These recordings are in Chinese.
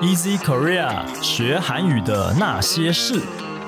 Easy Korea 学韩语的那些事。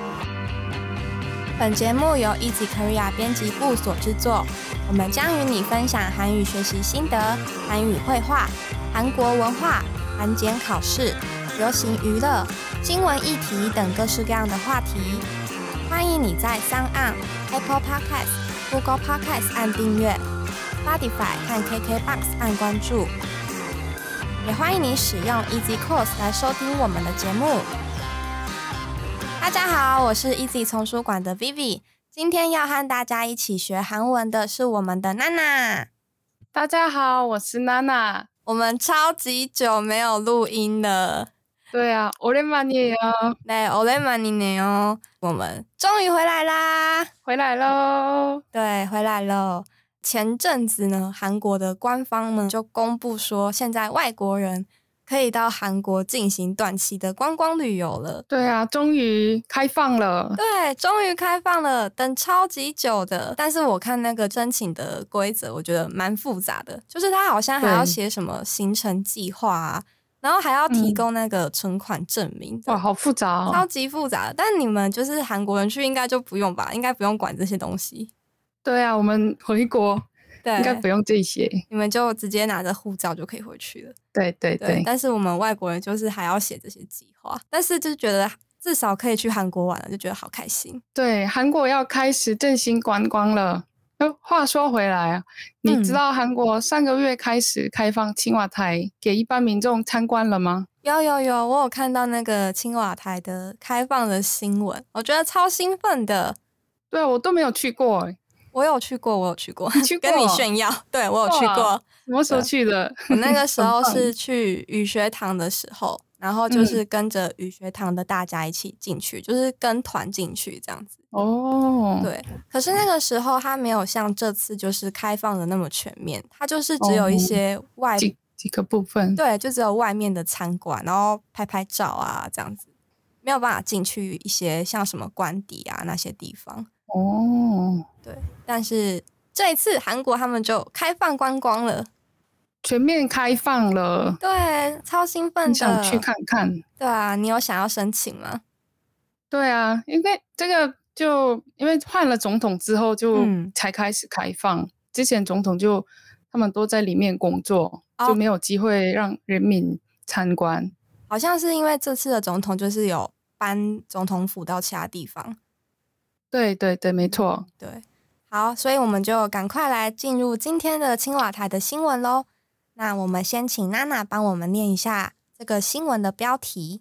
本节目由 Easy Korea 编辑部所制作，我们将与你分享韩语学习心得、韩语绘画、韩国文化、韩检考试、流行娱乐、新闻议题等各式各样的话题。欢迎你在 SoundOn、Apple Podcast、Google Podcast 按订阅， Spotify 和 KKBOX 按关注。也欢迎你使用 Easy Course 来收听我们的节目。大家好，我是 Easy 丛书馆的 Vivi， 今天要和大家一起学韩文的是我们的娜娜。 大家好，我是娜娜。 我们超级久没有录音了。 对啊，오랜만이에요。 对，오랜만이네요。我们终于回来啦！ 回来咯。 对，回来了。前阵子呢，韩国的官方呢就公布说，现在外国人可以到韩国进行短期的观光旅游了。 对啊，终于开放了。 对，终于开放了，等超级久的。但是我看那个申请的规则，我觉得蛮复杂的，就是他好像还要写什么行程计划啊，然后还要提供那个存款证明。 哇，好复杂哦， 超级复杂的。但你们就是韩国人去，应该就不用吧？应该不用管这些东西。 对啊，我们回国对， 应该不用这些， 你们就直接拿着护照就可以回去了。 对对 对。 但是我们外国人就是还要写这些计划，但是就觉得至少可以去韩国玩了，就觉得好开心。 对，韩国要开始振兴观光了。话说回来啊，你知道韩国上个月开始开放青瓦台给一般民众参观了吗？ 有，我有看到那个青瓦台的开放的新闻，我觉得超兴奋的。 对啊，我都没有去过欸。 我有去过， 去过跟你炫耀。对，我有去过。 什么时候去的？ 我那个时候是去语学堂的时候，然后就是跟着语学堂的大家一起进去，就是跟团进去这样子。 哦， 对。可是那个时候它没有像这次就是开放的那么全面，它就是只有一些几个部分。 对，就只有外面的参观，然后拍拍照啊这样子，没有办法进去一些像什么官邸啊那些地方。 哦， 对，但是这一次韩国他们就开放观光了， 全面开放了。 对，超兴奋的， 想去看看。 对啊，你有想要申请吗？ 对啊，因为这个就因为换了总统之后就才开始开放，之前总统就他们都在里面工作，就没有机会让人民参观。 好像是因为这次的总统就是有搬总统府到其他地方。 对对对，没错。 对，好，所以我们就赶快来進入今天的青瓦台的新闻咯。那我们先请娜娜帮我们念一下这个新闻的标题。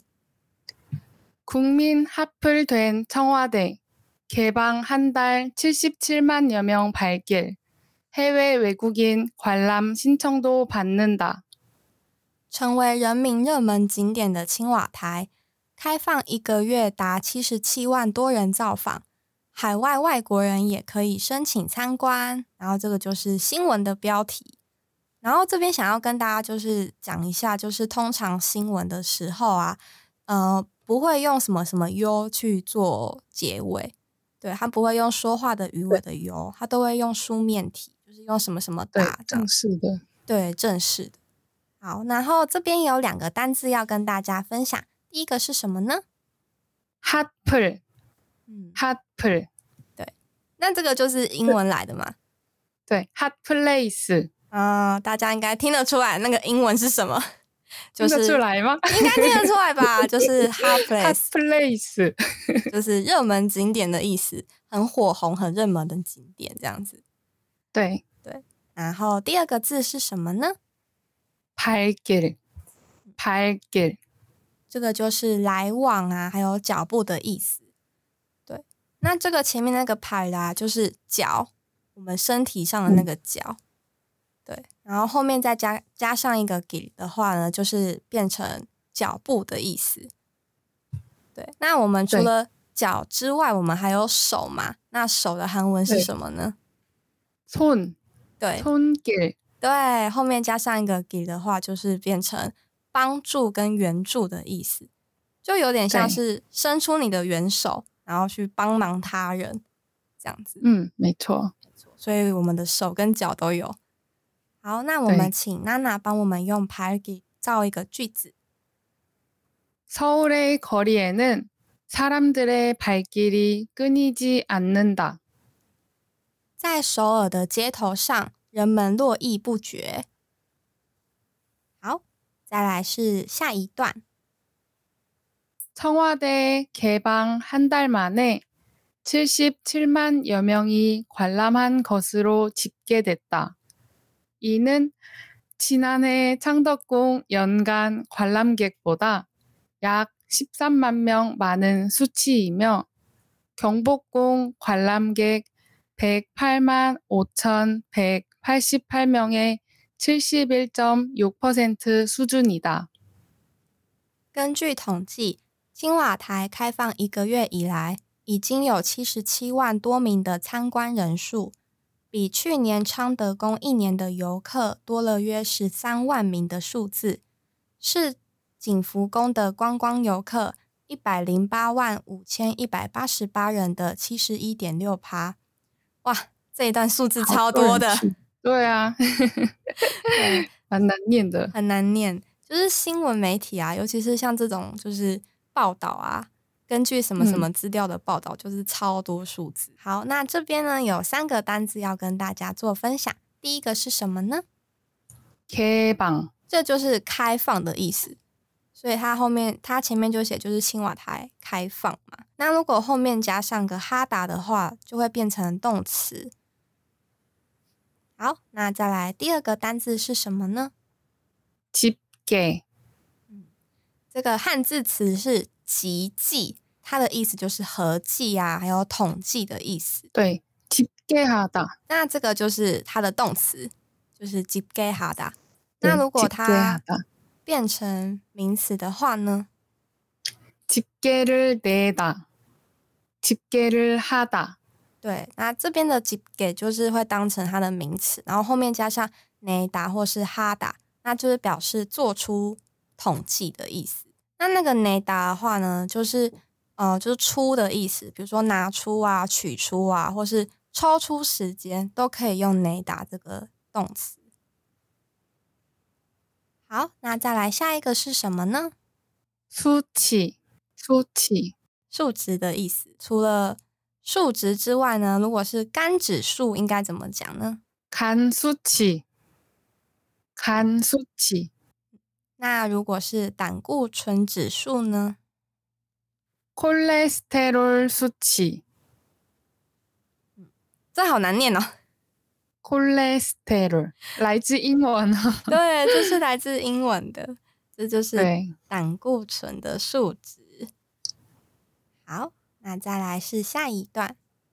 국민 합을된 청와대 개방 한 달 77만여 명 발길 해외 외국인 관람 신청도 받는다。 成为人民热门景点的青瓦台，开放1个月达77万多人造访，海外外国人也可以申请参观。然后这个就是新闻的标题。然后这边想要跟大家就是讲一下，就是通常新闻的时候啊，不会用什么什么 U 去做结尾，对，他不会用说话的语尾的 U， 他都会用书面体，就是用什么什么打， 正式的， 对，正式的。好，然后这边有2个单字要跟大家分享，第一个是什么呢？ 핫플。핫플。 对，那这个就是英文来的嘛？ 对， hot place。 大家应该听得出来那个英文是什么？就是听得出来吗？ 应该听得出来吧？就是 hot place， hot place 就是热门景点的意思，很火红、很热门的景点这样子。 对对，然后第2个字是什么呢？ 발길。 这个就是来往啊，还有脚步的意思。对，那这个前面那个발啦，就是脚，我们身体上的那个脚。对，然后后面再加上一个길的话呢，就是变成脚步的意思。对，那我们除了脚之外，我们还有手嘛？那手的韩文是什么呢？ 손。 对， 손길。 对，后面加上一个길的话，就是变成帮助跟援助的意思，就有点像是伸出你的援手，然后去帮忙他人这样子。 没错。 所以我们的手跟脚都有。好，那我们请娜娜帮我们用발길造一个句子。 서울의 거리에는 사람들의 발길이 끊이지 않는다. 在首尔的街头上，人们络绎不绝。好，再来是下一段。 청와대 개방 한 달 만에 77만여 명이 관람한 것으로 집계됐다. 이는 지난해 창덕궁 연간 관람객보다 약 13만 명 많은 수치이며 경복궁 관람객 108만 5,188명의 71.6% 수준이다. 根据统计，青瓦台开放1个月以来，已经有77万多名的参观人数，比去年昌德宫1年的游客多了约13万名的数字，是景福宫的观光游客108万5188人的71.6%。哇，这一段数字超多的。 对啊，蛮难念的， 很难念。就是新闻媒体啊，尤其是像这种就是报道啊，根据什么什么资料的报道，就是超多数字。好，那这边呢有3个单字要跟大家做分享。第一个是什么呢？ 개방， 这就是开放的意思。所以它前面就写就是青瓦台开放嘛。那如果后面加上个哈达的话，就会变成动词。好，那再来第2个单字是什么呢？ 집계， 这个汉字词是集计，它的意思就是合计啊，还有统计的意思。 对，집계하다。 那这个就是它的动词，就是집계하다。那如果它变成名词的话呢？ 집계를 내다， 집계를 하다。 对，那这边的집계就是会当成它的名词，然后后面加上내다或是하다，那就是表示做出统计的意思。那个내다的话呢，就是出的意思，比如说拿出啊、取出啊，或是抽出时间，都可以用내다这个动词。好，那再来下一个是什么呢？ 수치， 数值的意思。除了数值之外呢，如果是肝指数应该怎么讲呢？ 간수치。 那如果是胆固醇指数呢？ 콜레스테롤 수치。 这好难念哦。 콜레스테롤来自英文。 对，这是来自英文的，这就是胆固醇的数值。好，那再来是下一段。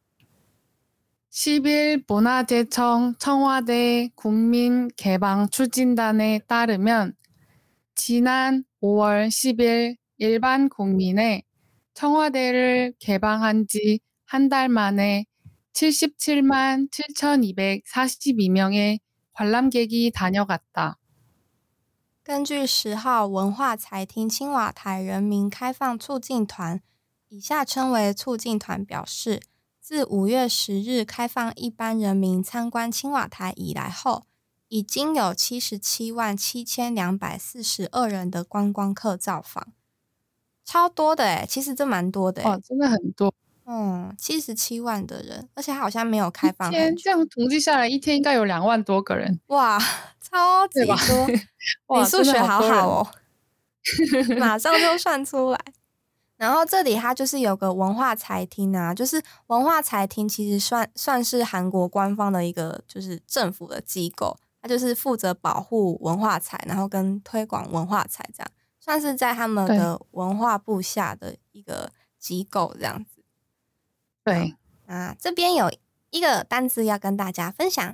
10일 문화재청 청와대 국민개방추진단에 따르면 지난 5월 10일 일반 국민의 청와대를 개방한 지 한 달 만에 77만 7,242명의 관람객이 다녀갔다. 根据10号文化财厅青瓦台人民开放促进团（以下称为促进团）表示，自5月10日开放一般人民参观青瓦台以来后，已经有77万7242人的观光客造访，超多的耶，其实这蛮多的耶。 哇，真的很多。 77万的人，而且它好像没有开放很久。 这样统计下来，一天应该有2万多个人。 哇，超级多！你数学好好哦，马上就算出来。然后这里它就是有个文化财厅啊，就是文化财厅其实算是韩国官方的一个就是政府的机构，它就是负责保护文化财，然后跟推广文化财这样，算是在他们的文化部下的一个机构这样子。 对， 那这边有一个单字要跟大家分享，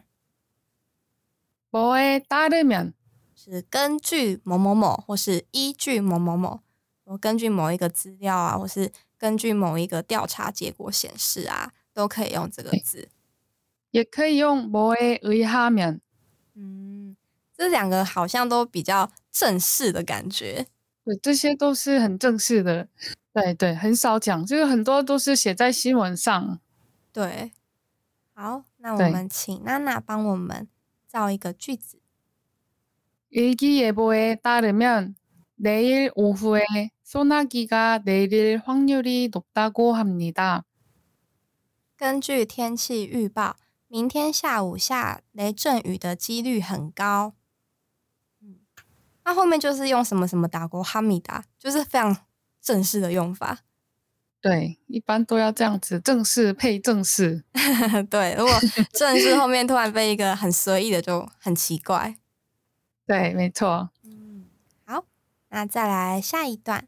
뭐에 따르면 是根据某某某或是依据某某某，根据某一个资料啊，或是根据某一个调查结果显示啊，都可以用这个字。 也可以用뭐에 의하면。 这2个好像都比较正式的感觉。 对，这些都是很正式的。对对，很少讲，这个很多都是写在新闻上。 对，好，那我们请娜娜帮我们造一个句子。 일기예보에 따르면 내일 오후에 소나기가 내릴 확률이 높다고 합니다. 根据天气预报，明天下午下雷阵雨的几率很高。那后面就是用什么什么打过哈密达，就是非常正式的用法。 对，一般都要这样子，正式配正式。 对，如果正式后面突然被一个很随意的，就很奇怪。 对，没错。 好，那再来下一段。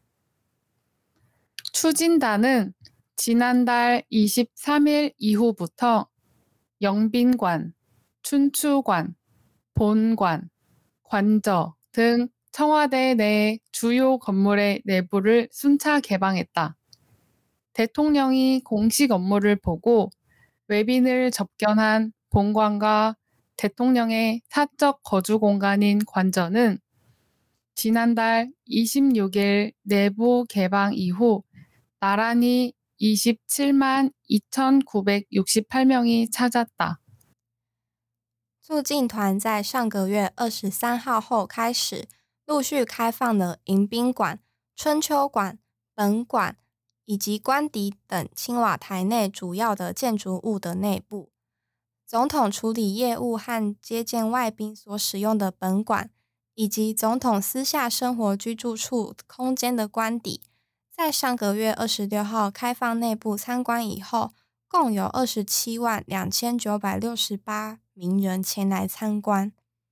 추진단은 지난달 23일 이후부터 영빈관, 춘추관, 본관, 관저 등 청와대 내 주요 건물의 내부를 순차 개방했다. 대통령이 공식 업무를 보고 외빈을 접견한 본관과 대통령의 사적 거주 공간인 관저는 지난달 26일 내부 개방 이후 나란히 27만 2,968명이 찾았다. 驻进团在上个月23号后开始陆续开放了迎宾馆、春秋馆、本馆以及官邸等青瓦台内主要的建筑物的内部。总统处理业务和接见外宾所使用的本馆，以及总统私下生活居住处空间的官邸，在上个月26号开放内部参观以后，共有27万2968名人前来参观。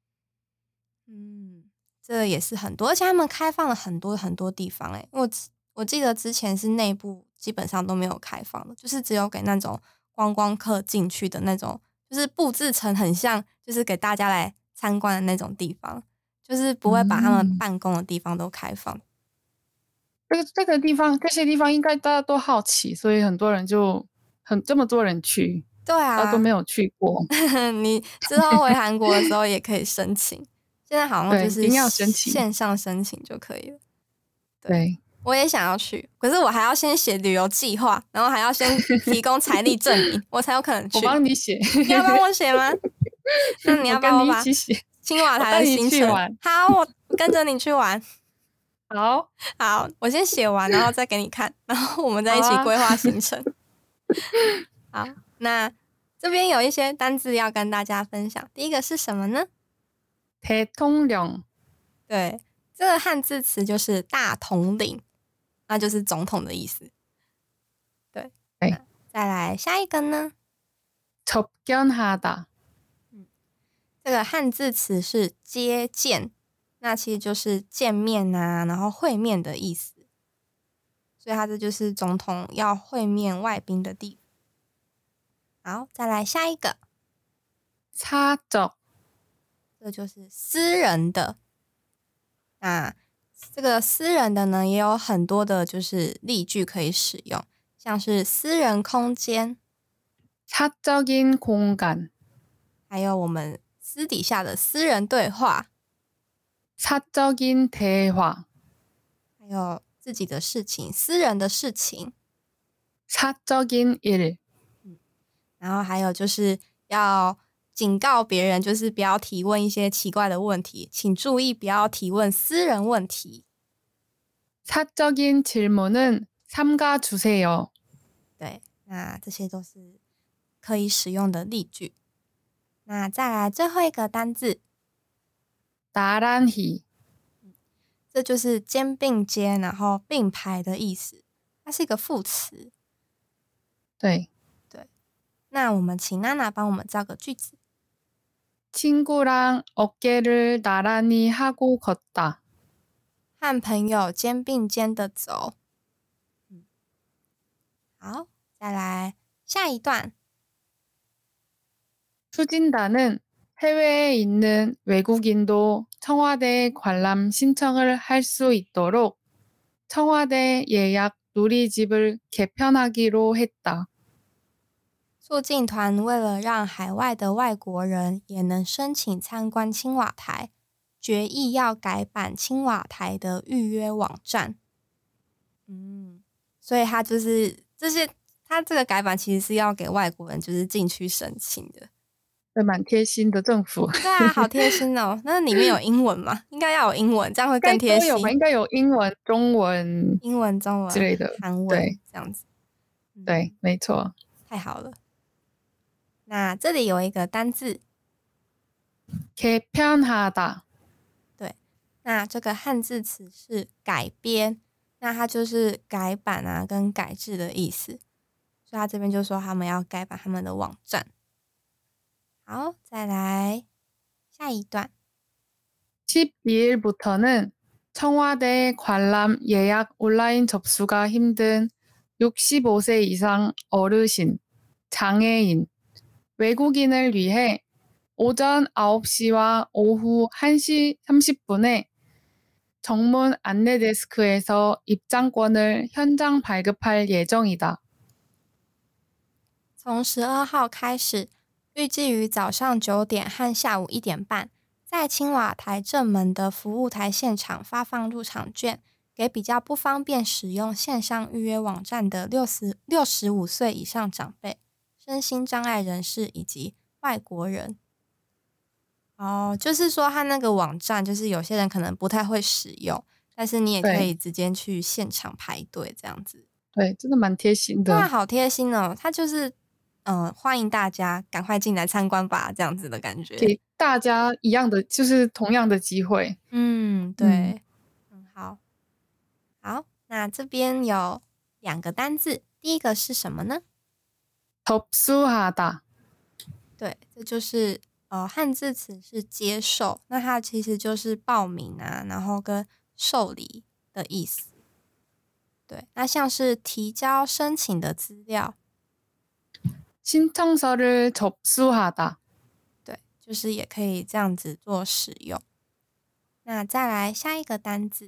这也是很多，而且他们开放了很多很多地方诶。我记得之前是内部基本上都没有开放的，就是只有给那种观光客进去的那种，就是布置成很像就是给大家来参观的那种地方，就是不会把他们办公的地方都开放。 这个地方，这些地方应该大家都好奇，所以很多人就这么多人去。 对啊， 大家都没有去过。 你之后回韩国的时候也可以申请，现在好像就是线上申请就可以了。 对， 我也想要去，可是我还要先写旅游计划，然后还要先提供财力证明，我才有可能去。 我帮你写， 你要帮我写吗？那你要帮我把一起写青瓦台的行程。好，我跟着你去玩。好，我先写完，然后再给你看，然后我们再一起规划行程。好，那这边有一些单字要跟大家分享。第一个是什么呢？ 대통령。 对，这个汉字词就是大统领，那就是总统的意思。对，再来下一个呢？ 접견하다。 这个汉字词是接见，那其实就是见面啊，然后会面的意思。所以它这就是总统要会面外宾的地方。好，再来下一个。 사적。 这就是私人的。那这个私人的呢，也有很多的就是例句可以使用，像是私人空间， 사적인 공간， 还有我们私底下的私人对话， 사적인 대화， 还有自己的事情，私人的事情， 사적인 일。 然后还有就是要警告别人，就是不要提问一些奇怪的问题，请注意不要提问私人问题。 사적인 질문은 삼가주세요。 对，那这些都是可以使用的例句。那再来最后一个单字， 나란히。 这就是肩并肩，然后并排的意思，它是一个副词。 对， 那我们请娜娜帮我们造个句子。 친구랑 어깨를 나란히 하고 걷다。 和朋友肩并肩的走。好，再来下一段。 추진단은 해외에 있는 외국인도 청와대 관람 신청을 할 수 있도록 청와대 예약 누리집을 개편하기로 했다。 促进团为了让海外的外国人也能申请参观青瓦台，决议要改版青瓦台的预约网站。所以它就是他这个改版其实是要给外国人就是进去申请的。 对，蛮贴心的政府。 对啊，好贴心哦。那里面有英文吗？应该要有英文，这样会更贴心。 应该都有吧，应该有英文、中文、 英文、中文之类的， 韩文对， 这样子。 对，没错。 太好了。那这里有一个单字 개편하다。 对，那这个汉字词是改编，那它就是改版啊跟改制的意思。所以他这边就说他们要改版他们的网站。好，再来下一段。 12일부터는 청와대 관람 예약 온라인 접수가 힘든 65세 이상 어르신, 장애인, 외국인을 위해 오전 9시와 오후 1시 30분에 정문 안내 데스크에서 입장권을 현장 발급할 예정이다. 从12号开始，预计于早上9点和下午1点半，在青瓦台正门的服务台现场发放入场券，给比较不方便使用线上预约网站的65岁以上长辈、身心障碍人士以及外国人。就是说他那个网站，就是有些人可能不太会使用，但是你也可以直接去现场排队这样子。 对，真的蛮贴心的。 哇，好贴心哦！他就是欢迎大家赶快进来参观吧，这样子的感觉， 给大家一样的，就是同样的机会。 对，很好。好，那这边有2个单字，第一个是什么呢？ 접수하다。 对，这就是汉字词是接受，那它其实就是报名啊，然后跟受理的意思。对，那像是提交申请的资料， 신청서를 접수하다。 对，就是也可以这样子做使用。那再来下一个单字，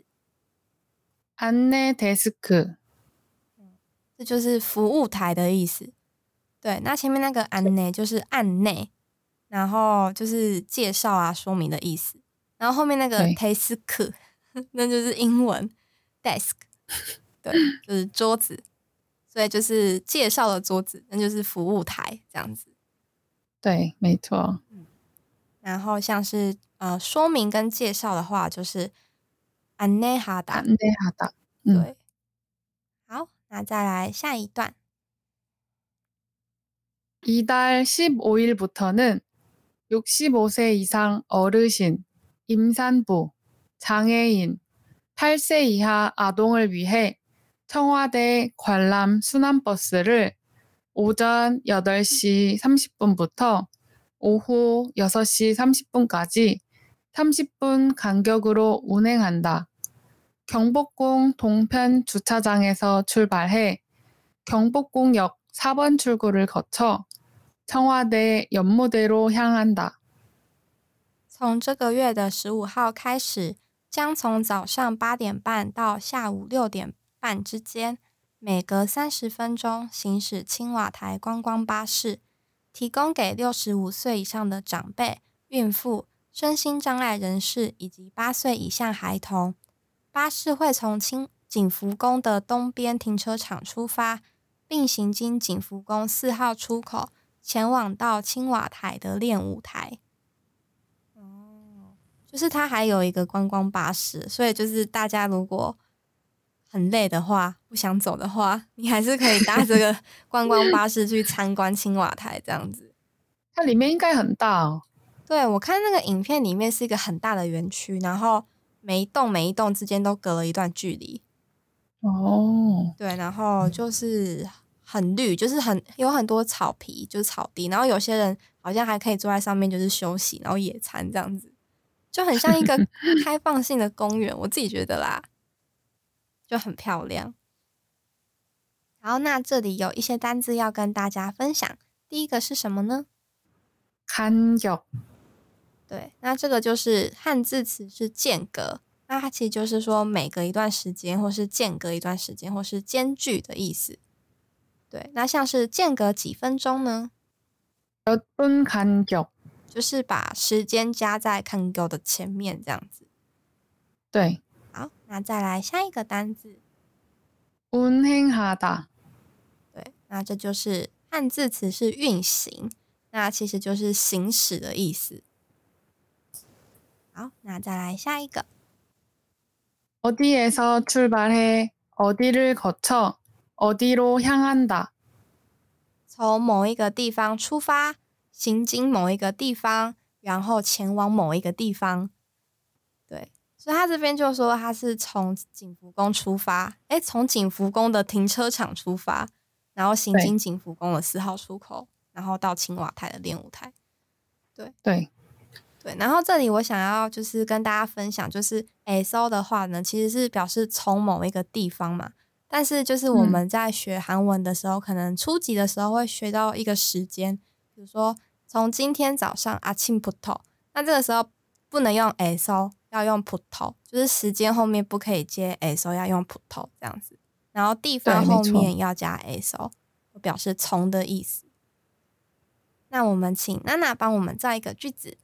안내 데스크。 这就是服务台的意思。对，那前面那个案内就是案内，然后就是介绍啊、说明的意思。然后后面那个 desk 那就是英文 desk， 对，就是桌子，所以就是介绍的桌子，那就是服务台这样子。 对，没错。 然后像是说明跟介绍的话，就是안내하다。 안내하다。 对，好，那再来下一段。 이달 15일부터는 65세 이상 어르신, 임산부, 장애인, 8세 이하 아동을 위해 청와대 관람 순환버스를 오전 8시 30분부터 오후 6시 30분까지 30분 간격으로 운행한다. 경복궁 동편 주차장에서 출발해 경복궁역 4번 출구를 거쳐 청와대 연무대로 향한다. 从这个月的15号开始，将从早上8点半到下午6点半之间，每隔30分钟行驶青瓦台观光巴士，提供给65岁以上的长辈、孕妇、身心障碍人士以及8岁以下孩童。巴士会从景福宫的东边停车场出发，并行经景福宫4号出口，前往到青瓦台的练舞台。就是它还有一个观光巴士，所以就是大家如果很累的话，不想走的话，你还是可以搭这个观光巴士去参观青瓦台这样子。 它里面应该很大哦。 对，我看那个影片里面是一个很大的园区，然后每一栋之间都隔了一段距离。对，然后就是很绿，就是有很多草皮，就是草地，然后有些人好像还可以坐在上面就是休息，然后野餐这样子。就很像一个开放性的公园，我自己觉得啦，就很漂亮。好，那这里有一些单字要跟大家分享。第一个是什么呢？ 간격。 对，那这个就是汉字词是间隔，那它其实就是说每隔一段时间，或是间隔一段时间，或是间距的意思。对，那像是间隔几分钟呢？ 몇 분 간격。 就是把时间加在간격的前面这样子。 对。 好，那再来下一个单字。 운행하다。 对，那这就是汉字词是运行， 那其实就是行驶的意思。好，那再来下一个。 어디에서 출발해 어디를 거쳐 어디로 향한다. 从某一个地方出发，行经某一个地方，然后前往某一个地方。对，所以他这边就说他是从景福宫出发，从景福宫的停车场出发，然后行经景福宫的4号出口，然后到青瓦台的练舞台。对，然后这里我想要就是跟大家分享，就是에서的话呢，其实是表示从某一个地方嘛。但是就是我们在学韩文的时候，可能初级的时候会学到一个时间，比如说从今天早上아침부터，那这个时候不能用에서，要用부터，就是时间后面不可以接에서，要用부터这样子。然后地方后面要加에서，表示从的意思。那我们请娜娜帮我们造一个句子。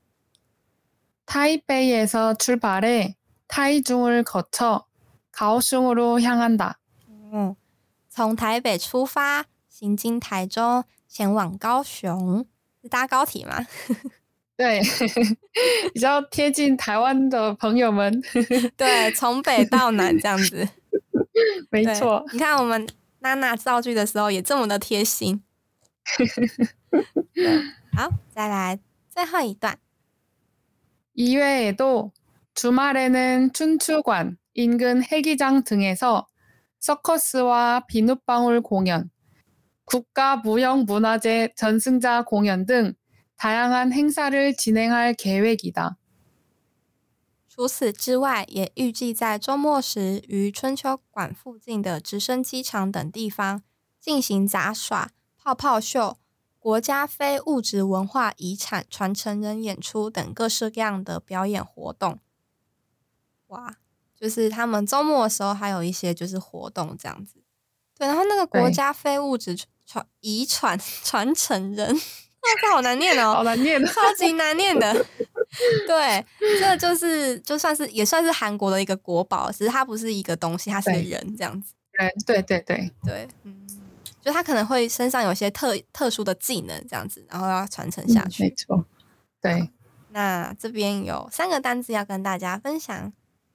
타이베이에서 출발해 타이중을 거쳐 가오슝으로 향한다. 从台北出发，行经台中，前往高雄。是搭高铁吗？ 对，比较贴近台湾的朋友们。 对，从北到南这样子。 没错， 你看我们娜娜造句的时候也这么的贴心。好，再来最后一段。 이외에도 주말에는 춘추관, 인근 해기장 등에서 서커스와 비눗방울 공연, 국가무형문화재 전승자 공연 등 다양한 행사를 진행할 계획이다. 除此之外，也预计在周末时于春秋馆附近的直升机场等地方进行杂耍、泡泡秀、国家非物质文化遗产传承人演出等各式各样的表演活动。哇，就是他们周末的时候还有一些就是活动这样子。对，然后那个国家非物质遗产传承人，这好难念哦， 好难念， 超级难念的。对，这就算是也算是韩国的一个国宝，只是它不是一个东西，它是个人这样子。 对， 就他可能会身上有些特殊的技能这样子，然后要传承下去。 没错，对。 那这边有3个单字要跟大家分享。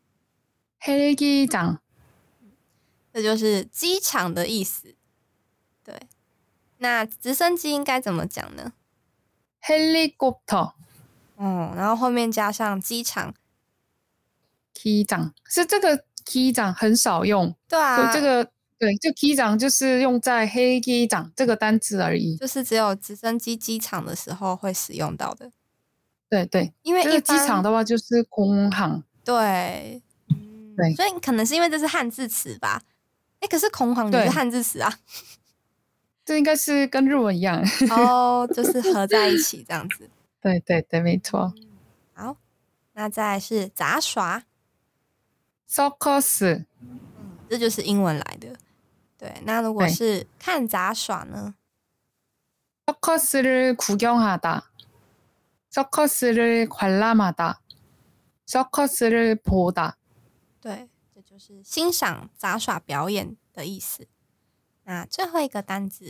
헬기장， 这就是机场的意思。对，那直升机应该怎么讲呢？ 헬리콥터， 然后后面加上机场。 기장是这个기장很少用。 对啊， 这个对，就기장就是用在헬기장这个单字而已， 就是只有直升机机场的时候会使用到的。 对， 因为这个机场的话就是공항。 对， 对， 所以可能是因为这是汉字词吧。可是空行也是汉字词啊。 这应该是跟日文一样。 就是合在一起这样子。 对，没错。 好，那再来是杂耍。 circus， 这就是英文来的。对，那如果是看杂耍呢？ 서커스를 구경하다, 서커스를 관람하다, 서커스를 보다。 对，这就是欣赏杂耍表演的意思。那最后一个单字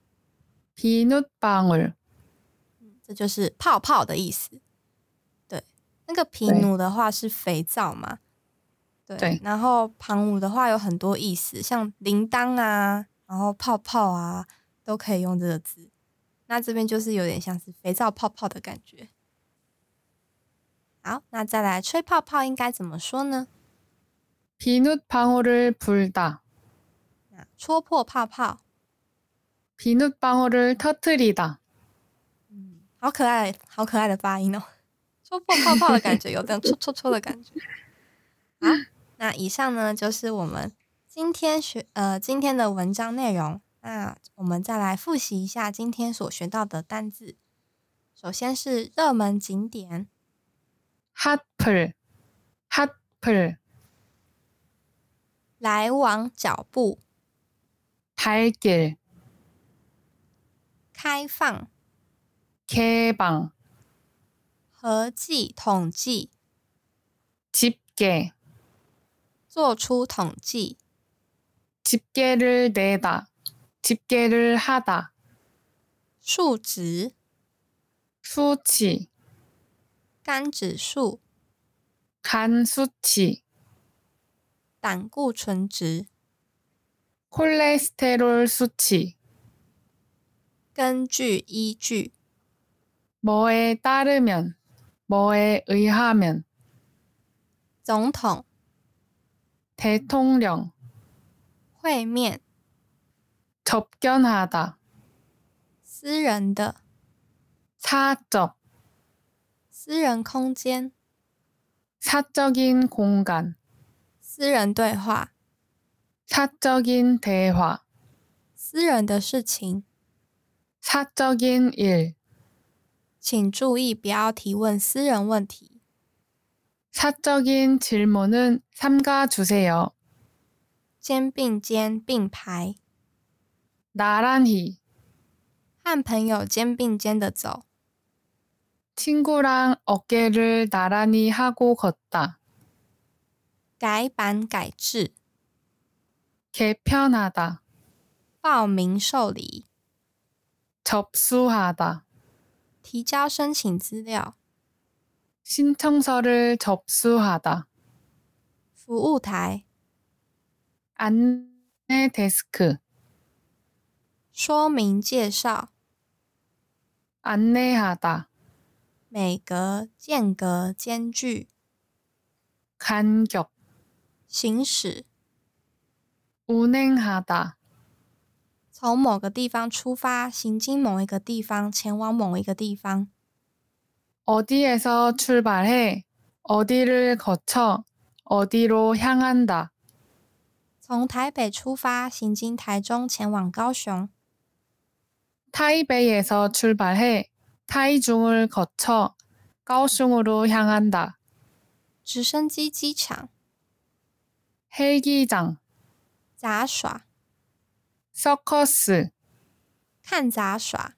비눗방울， 这就是泡泡的意思。对，那个皮努的话是肥皂嘛。对，然后旁舞的话有很多意思，像铃铛啊，然后泡泡啊，都可以用这个字。那这边就是有点像是肥皂泡泡的感觉。好，那再来吹泡泡应该怎么说呢？ 비눗방울을 불다， 戳破泡泡。 비눗방울을 터뜨리다。 好可爱，好可爱的发音哦！戳破泡泡的感觉，有这样戳戳戳的感觉。好，那以上呢就是我们今天的文章内容。那我们再来复习一下今天所学到的单字。首先是热门景点 핫플， 来往脚步 발길， 开放 개방， 合计统计 집계， 做出统计 집계를 내다， 집계를 하다， 数值 수치 肝指数、 간 수치 胆固醇值、 콜레스테롤 수치 根据依据、 뭐에 따르면 뭐에 의하면 总统、 대통령 会面、 접견하다 私人的、 사적 私人空间、 사적인 공간 私人对话、 사적인 대화 私人的事情。 사적인 일 请注意不要提问私人问题。 사적인 질문은 삼가주세요. 肩并肩并排， 나란히 和朋友肩并肩的走， 친구랑 어깨를 나란히 하고 걷다. 改版改制， 개편하다. 报名受理， 접수하다. 提交申请资料， 신청서를 접수하다. 服务台， 안내 데스크. 说明介绍， 안내하다. 每隔间隔间距， 간격. 行驶， 운행하다. 从某个地方出发，行经某一个地方，前往某一个地方。 어디에서 출발해 어디를 거쳐 어디로 향한다. 从台北出发，行经台中，前往高雄。 타이베이에서 출발해 타이중을 거쳐 가오슝으로 향한다. 直升机机场， 헬기장, 杂耍， 서커스, 看杂耍，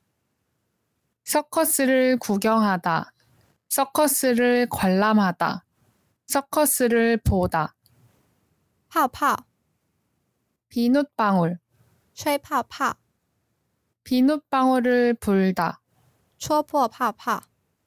서커스를 구경하다, 서커스를 관람하다, 서커스를 보다. 泡泡， 비눗방울, 吹泡泡， 비눗방울을 불다, 戳破泡泡。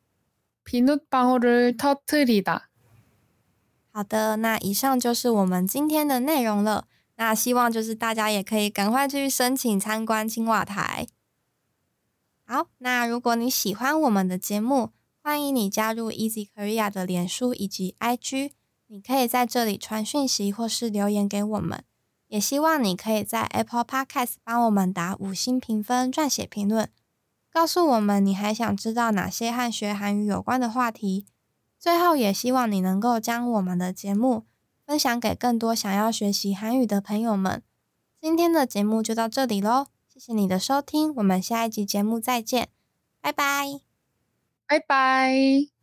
비눗방울을 터뜨리다. 好的，那以上就是我们今天的内容了。那希望就是大家也可以赶快去申请参观青瓦台。好，那如果你喜欢我们的节目，欢迎你加入 Easy Korea 的脸书以及 IG， 你可以在这里传讯息或是留言给我们。也希望你可以在 Apple Podcast 帮我们打5星评分、撰写评论，告诉我们你还想知道哪些和学韩语有关的话题。最后也希望你能够将我们的节目分享给更多想要学习韩语的朋友们。今天的节目就到这里咯，谢谢你的收听，我们下一集节目再见，拜拜。 拜拜。